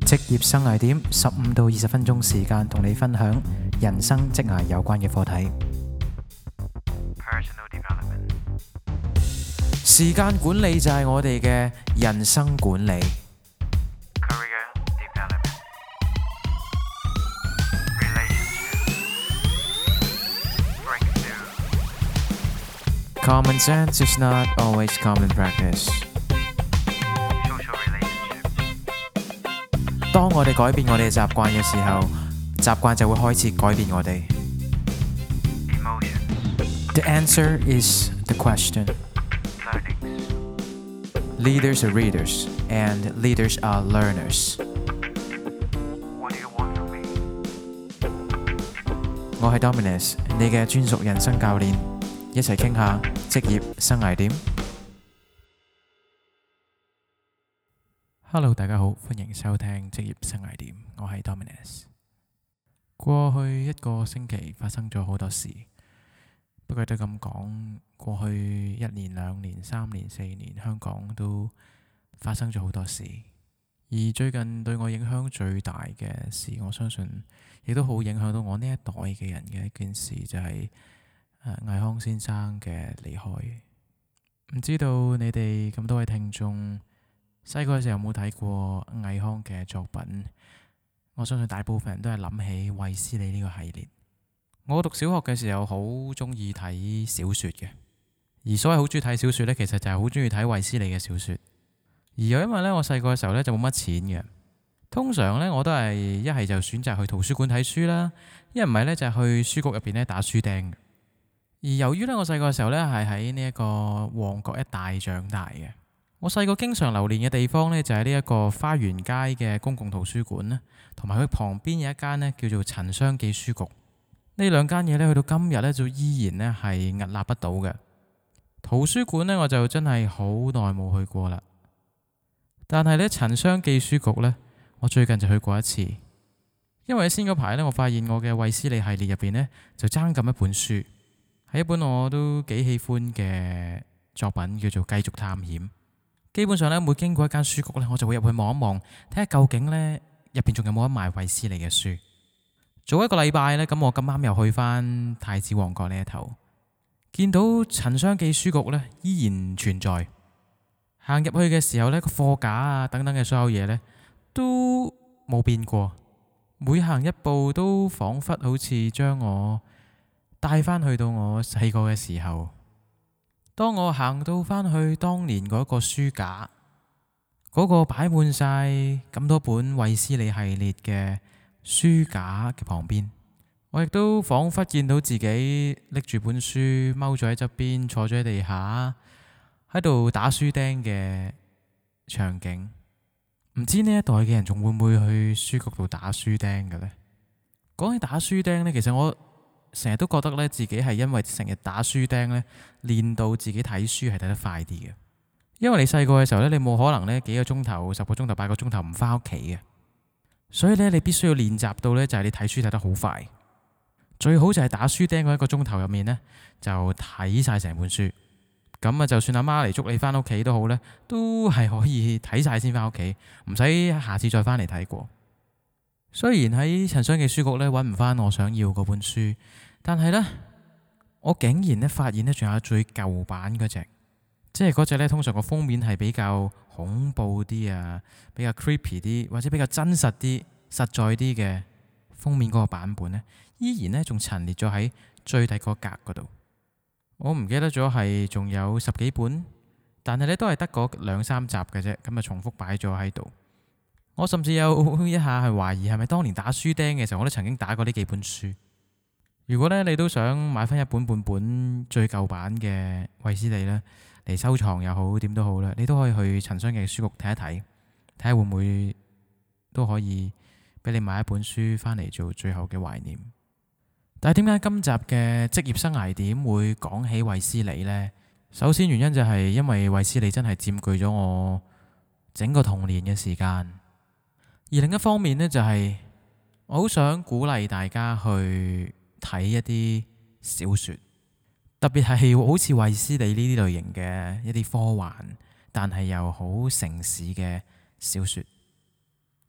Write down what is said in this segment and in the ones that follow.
職業生涯點15到20分鐘時間，同你分享人生職涯有關嘅課題。 Personal development. 時間管理就係我哋嘅人生管理。 Career development. Relationship. Breakthrough. Common sense is not always common practice。 Social relationships. 當我哋改變我哋嘅習慣嘅時候，習慣就會開始改變我哋。 Emotions. The answer is the question. Learnings. Leaders are readers and leaders are learners。 What do you want from me? 我係 Dominus， 你嘅專屬人生教練，一齊傾下職業生涯點。Hello， 大家好，歡迎收聽職業生涯點，我係 Dominus。過去一個星期發生咗好多事，不過都咁講，過去1年、2年、3年、4年，香港都發生咗好多事。而最近對我影響最大嘅事，我相信亦都好影響到我呢一代嘅人嘅一件事，就係倪匡先生嘅離開。唔知道你哋咁多位聽眾細個嘅時候有冇睇過倪匡嘅作品？我相信大部分人都係諗起衛斯理呢個系列。我讀小學嘅時候好中意睇小說嘅，而所謂好中意睇小說呢，其實就係好中意睇衛斯理嘅小說。而又因為呢，我細個嘅時候呢就冇乜錢嘅，通常呢我都係一係就選擇去圖書館睇書啦，一唔係呢就係去書局入邊呢打書釘。而由於呢，我細個嘅時候呢係喺呢一個旺角一帶長大嘅，我細個經常流連嘅地方呢，就係呢一個花園街嘅公共圖書館啦，同埋佢旁邊有一間呢叫做陳雙記書局。呢兩間嘢呢，去到今日呢，就依然呢係屹立不倒嘅。圖書館呢，我就真係好耐冇去過啦。但係呢，陳雙記書局呢，我最近就去過一次。因為先嗰排呢，我發現我嘅衛斯理系列入邊呢，就爭咁一本書，係一本我都幾喜歡嘅作品，叫做《繼續探險》。基本上呢，每經過一間書局呢，我就會入去望一望，睇下究竟呢入邊仲有冇得賣衛斯理嘅書。早一個禮拜呢，咁我咁啱又去返太子旺角呢一頭，見到陳雙記書局呢依然存在。行入去嘅時候呢，個貨架啊等等嘅所有嘢呢都冇變過，每行一步都仿佛好似將我帶返去到我細個嘅時候。當我行到返去當年嗰個書架，嗰個擺滿晒咁多本衛斯理系列嘅書架嘅旁邊，我亦都仿佛見到自己拎住本書踎咗喺側邊，坐咗喺地下喺度打書釘嘅場景。唔知呢一代嘅人仲會唔會去書局度打書釘嘅呢？講起打書釘呢，其實我成日都覺得呢，自己係因為成日打書釘呢，練到自己睇書係睇得快啲嘅。因為你細個嘅時候呢，你冇可能呢幾個鐘頭、10個鐘頭、8個鐘頭唔返屋企嘅，所以呢，你必須要練習到呢，就係你睇書睇得好快。最好就係打書釘嗰1個鐘頭入面呢，就睇晒成本書。咁啊，就算阿媽嚟捉你返屋企都好呢，都係可以睇晒先返屋企，唔使下次再返嚟睇過。雖然喺陳雙記書局呢揾唔返我想要嗰本書，但係呢，我竟然呢發現呢仲有最舊版嗰隻，即係嗰隻呢通常個封面係比較恐怖啲啊，比較 creepy 啲，或者比較真實啲、實在啲嘅封面嗰個版本呢，依然呢仲陳列咗喺最底嗰格嗰度。我唔記得咗係仲有10幾本，但係呢都係得嗰2、3集嘅啫，咁啊重複擺咗喺度。我甚至有一下係懷疑係咪當年打書釘嘅時候，我都曾經打過呢幾本書。如果呢你都想買翻一本半本最舊版嘅衛斯理呢嚟收藏又好，點都好啦，你都可以去陳雙記書局睇一睇，睇下會唔會都可以俾你買一本書翻嚟做最後嘅懷念。但係點解今集嘅職業生涯點會講起衛斯理呢？首先原因就係因為衛斯理真係佔據咗我整個童年嘅時間，而另一方面呢，就係我好想鼓勵大家去睇一啲小說，特別係好似衛斯理呢啲類型嘅一啲科幻，但係又好城市嘅小說。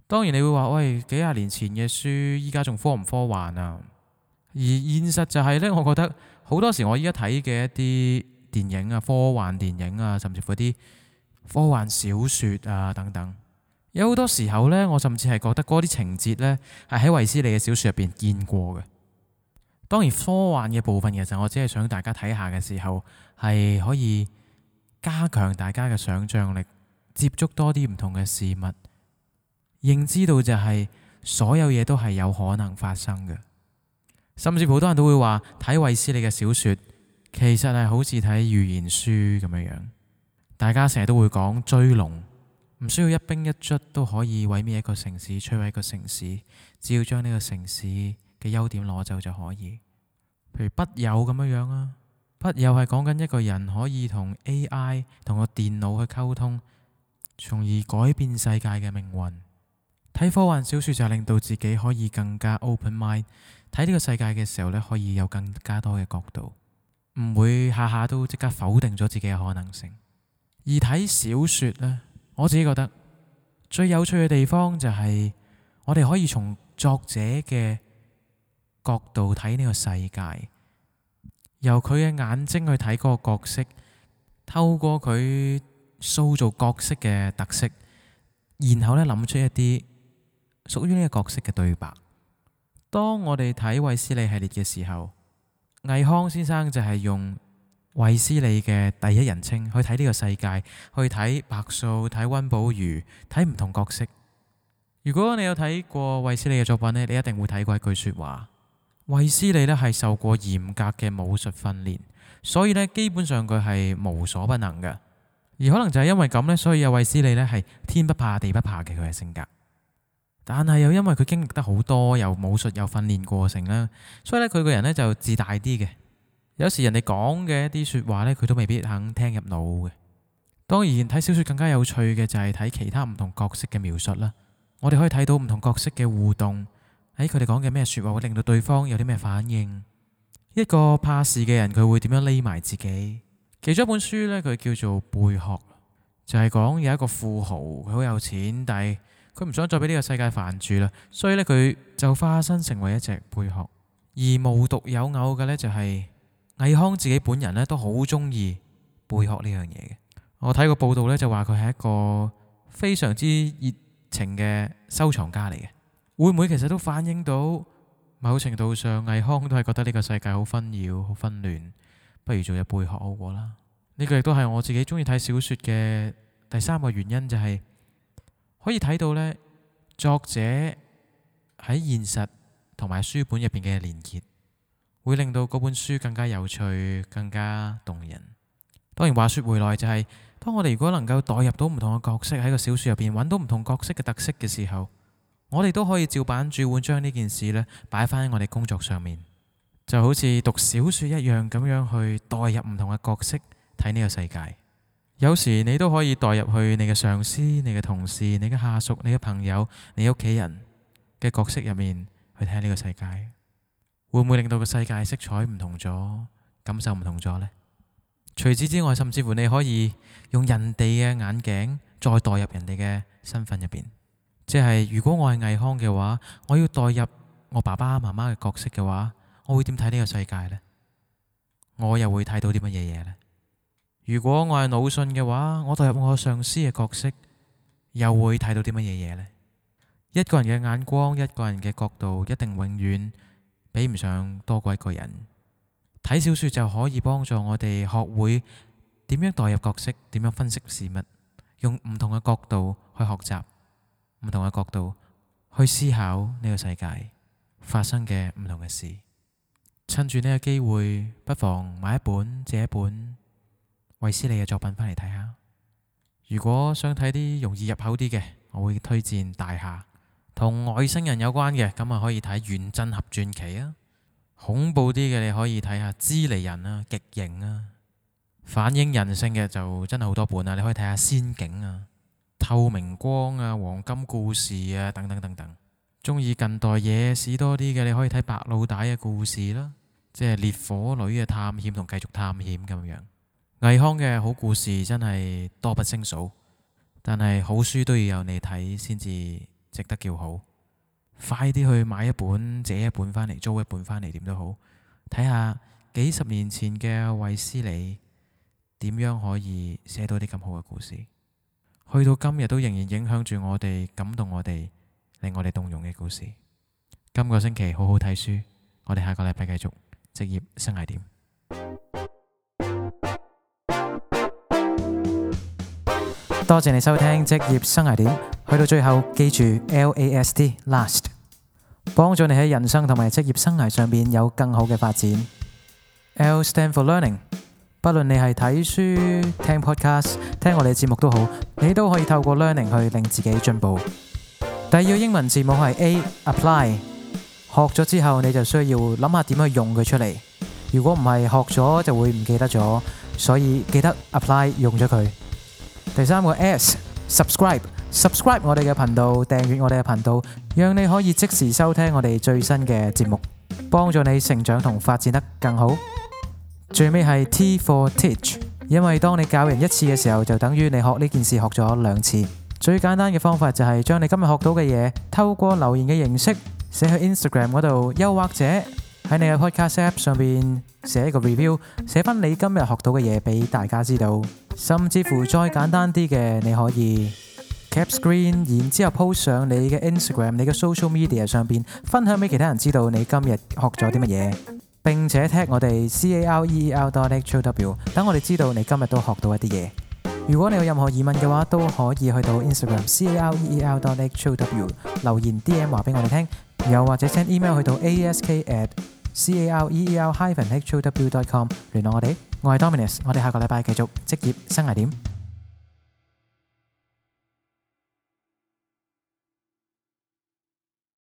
當然你會話喂，幾廿年前嘅書，依家仲科唔科幻啊？而現實就係呢，我覺得好多時我依家睇嘅一啲電影啊，科幻電影啊，甚至乎啲科幻小説啊等等，有好多時候呢，我甚至係覺得嗰啲情節呢係喺衛斯理嘅小説入邊見過嘅。當然科幻嘅部分其實我只係想大家睇下嘅時候，係可以加強大家嘅想像力，接觸多啲唔同嘅事物，認知到就係所有嘢都係有可能發生嘅。甚至好多人都會話睇衛斯理嘅小説，其實係好似睇預言書咁樣樣。大家成日都會講追龍，唔需要一兵一卒都可以毀滅一個城市，摧毀一個城市，只要將呢個城市嘅優點攞走就可以。譬如筆友咁樣樣啊，筆友係講緊一個人可以同 AI 同個電腦去溝通，從而改變世界嘅命運。睇科幻小説就係令到自己可以更加 open mind，睇呢個世界嘅時候呢，可以有更加多嘅角度，唔會下下都即刻否定咗自己嘅可能性。而睇小説呢，我自己覺得最有趣嘅地方就係我哋可以從作者嘅角度睇呢個世界，由佢嘅眼睛去睇嗰個角色，透過佢塑造角色嘅特色，然後呢諗出一啲屬於呢個角色嘅對白。當我哋睇衛斯理系列嘅時候，倪匡先生就係用衛斯理嘅第一人稱去睇呢個世界，去睇白素、睇溫寶如、睇唔同角色。如果你有睇過衛斯理嘅作品呢，你一定會睇過一句說話：衛斯理呢係受過嚴格嘅武術訓練，所以呢基本上佢係無所不能嘅。而可能就係因為咁呢，所以有衛斯理呢係天不怕地不怕嘅佢嘅性格。但係又因為佢經歷得好多，又武術又訓練過程啦，所以咧佢個人呢就自大啲嘅。有時人哋講嘅一啲說話呢，佢都未必肯聽入腦嘅。當然睇小說更加有趣嘅就係睇其他唔同角色嘅描述啦。我哋可以睇到唔同角色嘅互動，喺佢哋講嘅咩說話會令到對方有啲咩反應。一個怕事嘅人佢會點樣匿埋自己？其中一本書呢，佢叫做《貝殼》，就係講有一個富豪，佢好有錢，但係佢唔想再俾呢個世界煩住啦，所以呢，佢就化身成為一隻貝殼。而無獨有偶嘅呢，就係倪匡自己本人呢都好中意貝殼呢樣嘢嘅。我睇過報道呢，就話佢係一個非常之熱情嘅收藏家嚟嘅。會唔會其實都反映到某程度上倪匡都係覺得呢個世界好紛擾、好紛亂，不如做隻貝殼好過啦。呢個亦都係我自己中意睇小說嘅第三個原因，就係可以睇到呢，作者喺現實同埋書本入邊嘅連結，會令到嗰本書更加有趣、更加動人。當然話說回來，就係當我哋如果能夠代入到唔同嘅角色喺個小說入邊，揾到唔同角色嘅特色嘅時候，我哋都可以照版煮碗將呢件事呢擺翻喺我哋工作上面，就好似讀小說一樣咁樣去代入唔同嘅角色睇呢個世界。有時你都可以代入去你嘅上司、你嘅同事、你嘅下屬、你嘅朋友、你屋企人嘅角色入面去睇呢個世界，會唔會令到個世界色彩唔同咗，感受唔同咗呢？除此之外，甚至乎你可以用人哋嘅眼鏡再代入人哋嘅身份入邊，即係如果我係倪匡嘅話，我要代入我爸爸媽媽嘅角色嘅話，我會點睇呢個世界呢？我又會睇到啲乜嘢嘢呢？如果我係魯迅嘅話，我代入我上司嘅角色，又會睇到啲乜嘢嘢呢？一個人嘅眼光，一個人嘅角度，一定永遠比唔上多過一個人。睇小說就可以幫助我哋學會點樣代入角色，點樣分析事物，用唔同嘅角度去學習，唔同嘅角度去思考呢個世界發生嘅唔同嘅事。趁住呢個機會，不妨買一本借一本衛斯理嘅作品返嚟睇下。如果想睇啲容易入口啲嘅，我會推薦《大廈》，同外星人有關嘅，咁啊可以睇《原振俠傳奇》啊。恐怖啲嘅你可以睇下《支離人》啊，《極刑》啊。反映人性嘅就真係好多本啊，你可以睇下《仙境》啊、《透明光》啊、《黃金故事》啊等等等等。中意近代野史多啲嘅，你可以睇白老大嘅故事啦，即係烈火女嘅探險同繼續探險咁樣。倪匡嘅好故事真係多不勝數，但係好書都要有你睇先至值得叫好。快啲去買一本、借一本返嚟、租一本返嚟，點都好，睇下幾十年前嘅衛斯理點樣可以寫到啲咁好嘅故事，去到今日都仍然影響住我哋、感動我哋、令我哋動容嘅故事。今個星期好好睇書，我哋下個禮拜繼續職業生涯點。多謝你收聽職業生涯點，去到最後記住 LAST， 幫助你喺人生同埋職業生涯上面有更好嘅發展。L stand for learning， 不論你係睇書、聽 podcast、聽我哋嘅節目都好，你都可以透過 learning 去令自己進步。第二個英文字母係 A，apply， 學咗之後你就需要諗下點去用佢出嚟。如果唔係學咗就會唔記得咗，所以記得 apply 用咗佢。第三個 S，subscribe 我哋嘅頻道，訂閱我哋嘅頻道，讓你可以即時收聽我哋最新嘅節目，幫助你成長同發展得更好。最尾係 T for teach， 因為當你教人一次嘅時候，就等於你學呢件事學咗2次。最簡單嘅方法就係將你今日學到嘅嘢透過留言嘅形式寫去 Instagram 嗰度，又或者喺你嘅 podcast app 上邊寫一個 review， 寫翻你今日學到嘅嘢俾大家知道。甚至乎再簡單啲嘅，你可以 cap screen， 然之後 post 上你嘅 Instagram、你嘅 social media 上邊，分享俾其他人知道你今日學咗啲乜嘢，並且 tag 我哋 career.how， 等我哋知道你今日都學到一啲嘢。如果你有任何疑問嘅話，都可以去到 Instagram career.how 留言 DM 話俾我哋聽，又或者 send email 去到 ask@career-how.com 聯絡我哋。我係 Dominus， 我哋下個禮拜繼續職業生涯點。